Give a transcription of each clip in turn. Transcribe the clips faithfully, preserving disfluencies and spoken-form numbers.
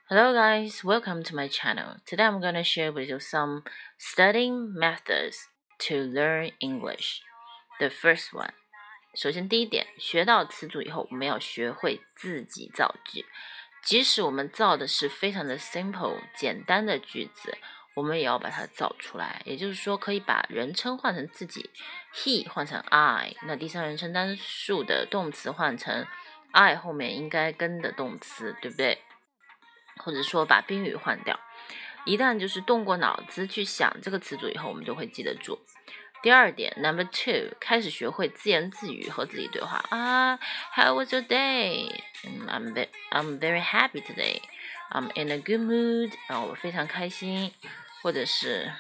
Hello guys, welcome to my channel. Today I'm going to share with you some studying methods to learn English. The first one. 首先第一点，学到词组以后，我们要学会自己造句。即使我们造的是非常的 simple 简单的句子，我们也要把它造出来。也就是说，可以把人称换成自己 he 换成 I， 那第三人称单数的动词换成 I 后面应该跟的动词，对不对？或者说把宾语换掉，一旦就是动过脑子去想这个词组以后，我们就会记得住。第二点 number two， 开始学会自言自语和自己对话啊 How was your day? I'm, ve- I'm very happy today. I'm in a good mood. 啊，我非常开心。或者是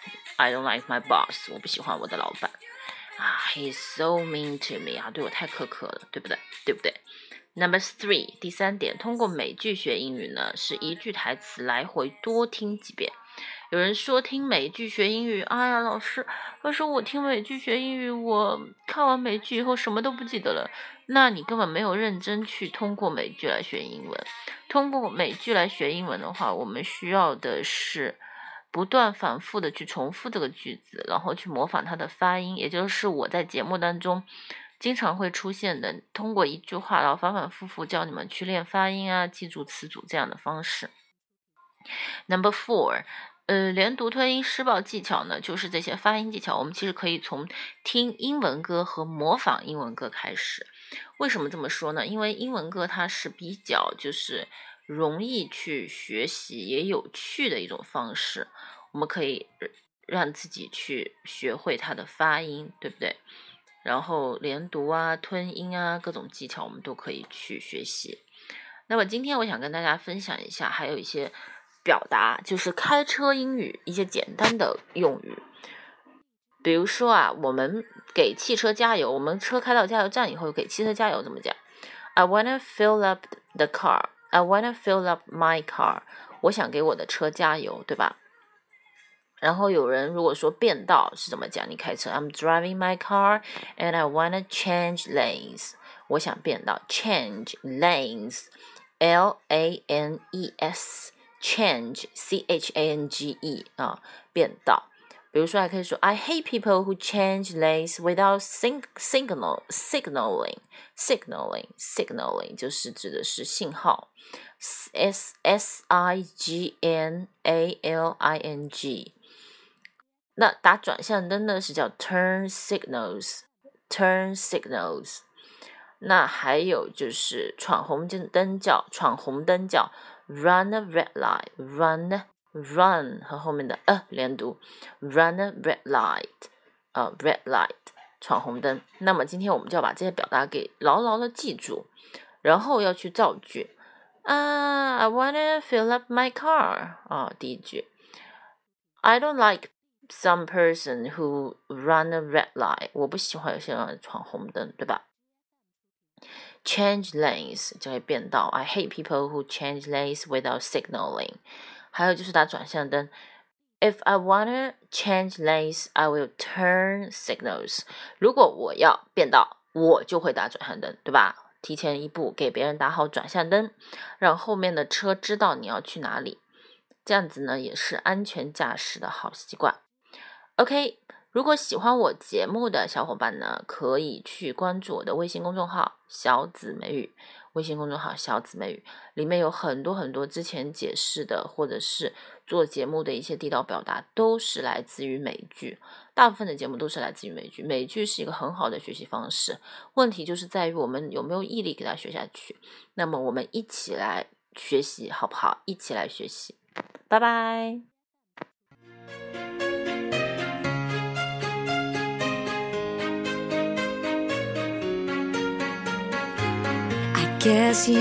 I don't like my boss. 我不喜欢我的老板啊 He's so mean to me. 啊，对我太苛刻了，对不对？对不对？Number three， 第三点，通过美剧学英语呢，是一句台词来回多听几遍。有人说听美剧学英语，哎呀，老师，老师，我听美剧学英语，我看完美剧以后什么都不记得了。那你根本没有认真去通过美剧来学英文。通过美剧来学英文的话，我们需要的是不断反复的去重复这个句子，然后去模仿它的发音，也就是我在节目当中经常会出现的，通过一句话然后反反复复教你们去练发音啊，记住词组这样的方式。Number four， 呃，连读吞音施暴技巧呢，就是这些发音技巧，我们其实可以从听英文歌和模仿英文歌开始。为什么这么说呢？因为英文歌它是比较就是容易去学习也有趣的一种方式，我们可以让自己去学会它的发音，对不对？然后连读啊、吞音啊，各种技巧我们都可以去学习。那么今天我想跟大家分享一下，还有一些表达，就是开车英语一些简单的用语。比如说啊，我们给汽车加油，我们车开到加油站以后，给汽车加油怎么讲 ？I wanna fill up the car. I wanna fill up my car. 我想给我的车加油，对吧？然后有人如果说变道是怎么讲？你开车 I'm driving my car and I wanna change lanes. 我想变道 change lanes L A N E S change C H A N G E 啊，变道。比如说还可以说 I hate people who change lanes without sing, signal, signaling signaling signaling 就是指的是信号 S S I G N A L I N G。那打转向灯呢是叫 turn signals turn signals。 那还有就是闯红灯叫闯红灯叫 run a red light run run 和后面的呃连读 run a red light 呃 red light 闯红灯。那么今天我们就要把这些表达给牢牢的记住，然后要去造句啊 I wanna fill up my car 啊，第一句 I don't like some person who run a red light， 我不喜欢有些人闯红灯，对吧？ Change lanes 就会变道 I hate people who change lanes without signaling。 还有就是打转向灯 If I wanna change lanes I will turn signals。 如果我要变道我就会打转向灯，对吧？提前一步给别人打好转向灯，让后面的车知道你要去哪里，这样子呢也是安全驾驶的好习惯。OK， 如果喜欢我节目的小伙伴呢，可以去关注我的微信公众号小紫美语，微信公众号小紫美语里面有很多很多之前解释的或者是做节目的一些地道表达，都是来自于美剧，大部分的节目都是来自于美剧。美剧是一个很好的学习方式，问题就是在于我们有没有毅力给它学下去。那么我们一起来学习好不好？一起来学习，拜拜。 Guess you